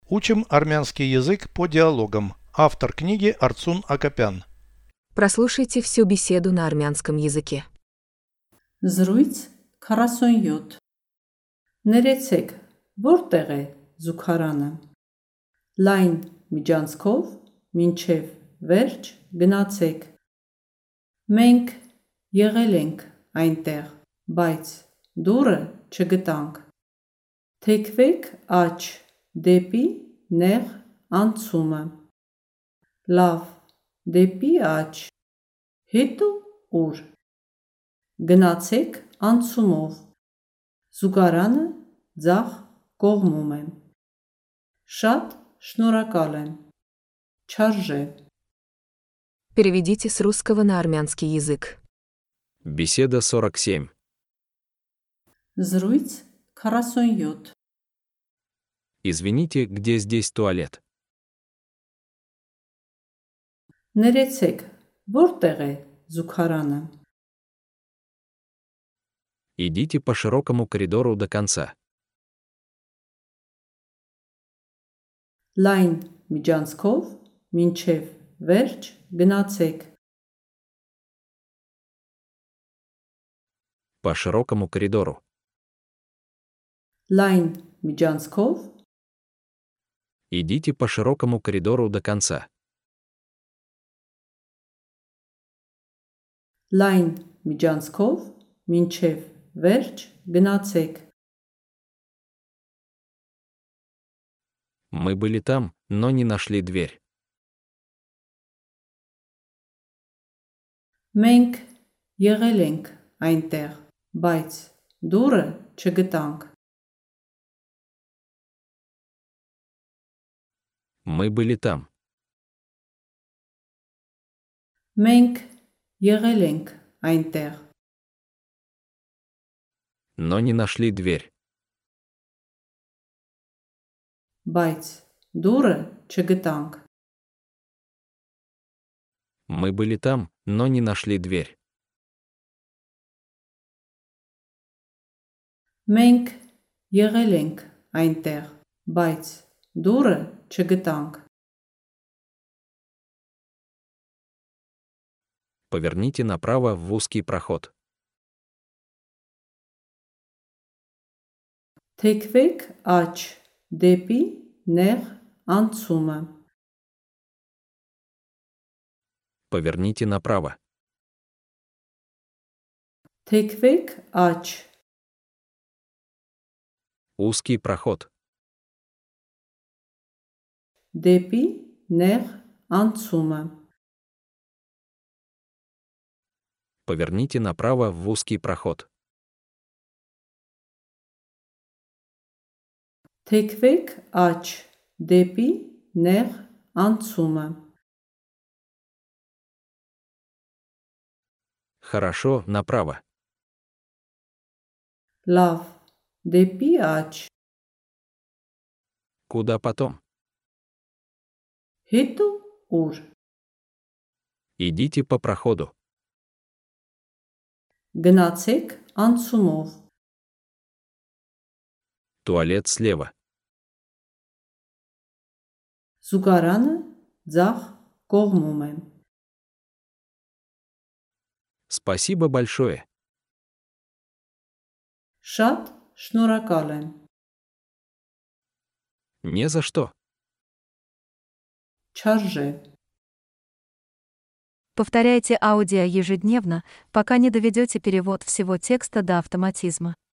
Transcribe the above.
Учим армянский язык по диалогам. Автор книги Арцун Акопян. Прослушайте всю беседу на армянском языке. Զրույց 47 Ներեցեք, որտեղ է զուգարանը։ Լայն միջանցքով մինչև վերջ գնացեք։ Մենք եղել ենք այնտեղ, բայց դուռը չգտանք։ Թեքվեք աջ դեպի նեղ անցումը։ Լավ, դեպի աջ։ Հետո ուր։ Գնացեք անցումով։ Զուգարանը ձախ կողմում է։ Շատ շնորհակալ եմ։ Չարժե։ Переведите с русского на армянский язык. Беседа 47. Զրույց 47 Извините, где здесь туалет? Ներեցեք, որտեղ է զուգարանը։ Идите по широкому коридору до конца. Լայն միջանցքով մինչև վերջ գնացեք։ По широкому коридору. Լայն միջանցքով Идите по широкому коридору до конца. Լայն միջանցքով մինչև վերջ գնացեք։ Мы были там, но не нашли дверь. Մենք եղել ենք այնտեղ, բայց դուռը չգտանք։ Мы были там. Մենք եղել ենք այնտեղ, Но не нашли дверь. բայց դուռը չգտանք։ Мы были там, но не нашли дверь. Մենք եղել ենք այնտեղ, բայց դուռը չգտանք։ Поверните направо в узкий проход. Թեքվեք աջ դեպի նեղ անցումը։ Поверните направо. Թեքվեք աջ Узкий проход. դեպի նեղ անցումը։ Поверните направо в узкий проход. Թեքվեք աջ դեպի նեղ անցումը։ Хорошо, направо. Լավ, դեպի աջ։ Куда потом? Հետո ուր։ Идите по проходу. Գնացեք անցումով։ Туалет слева. Զուգարանը ձախ կողմում է։ Спасибо большое. Շատ շնորհակալ եմ։ Не за что. Չարժե։ Повторяйте аудио ежедневно, пока не доведете перевод всего текста до автоматизма.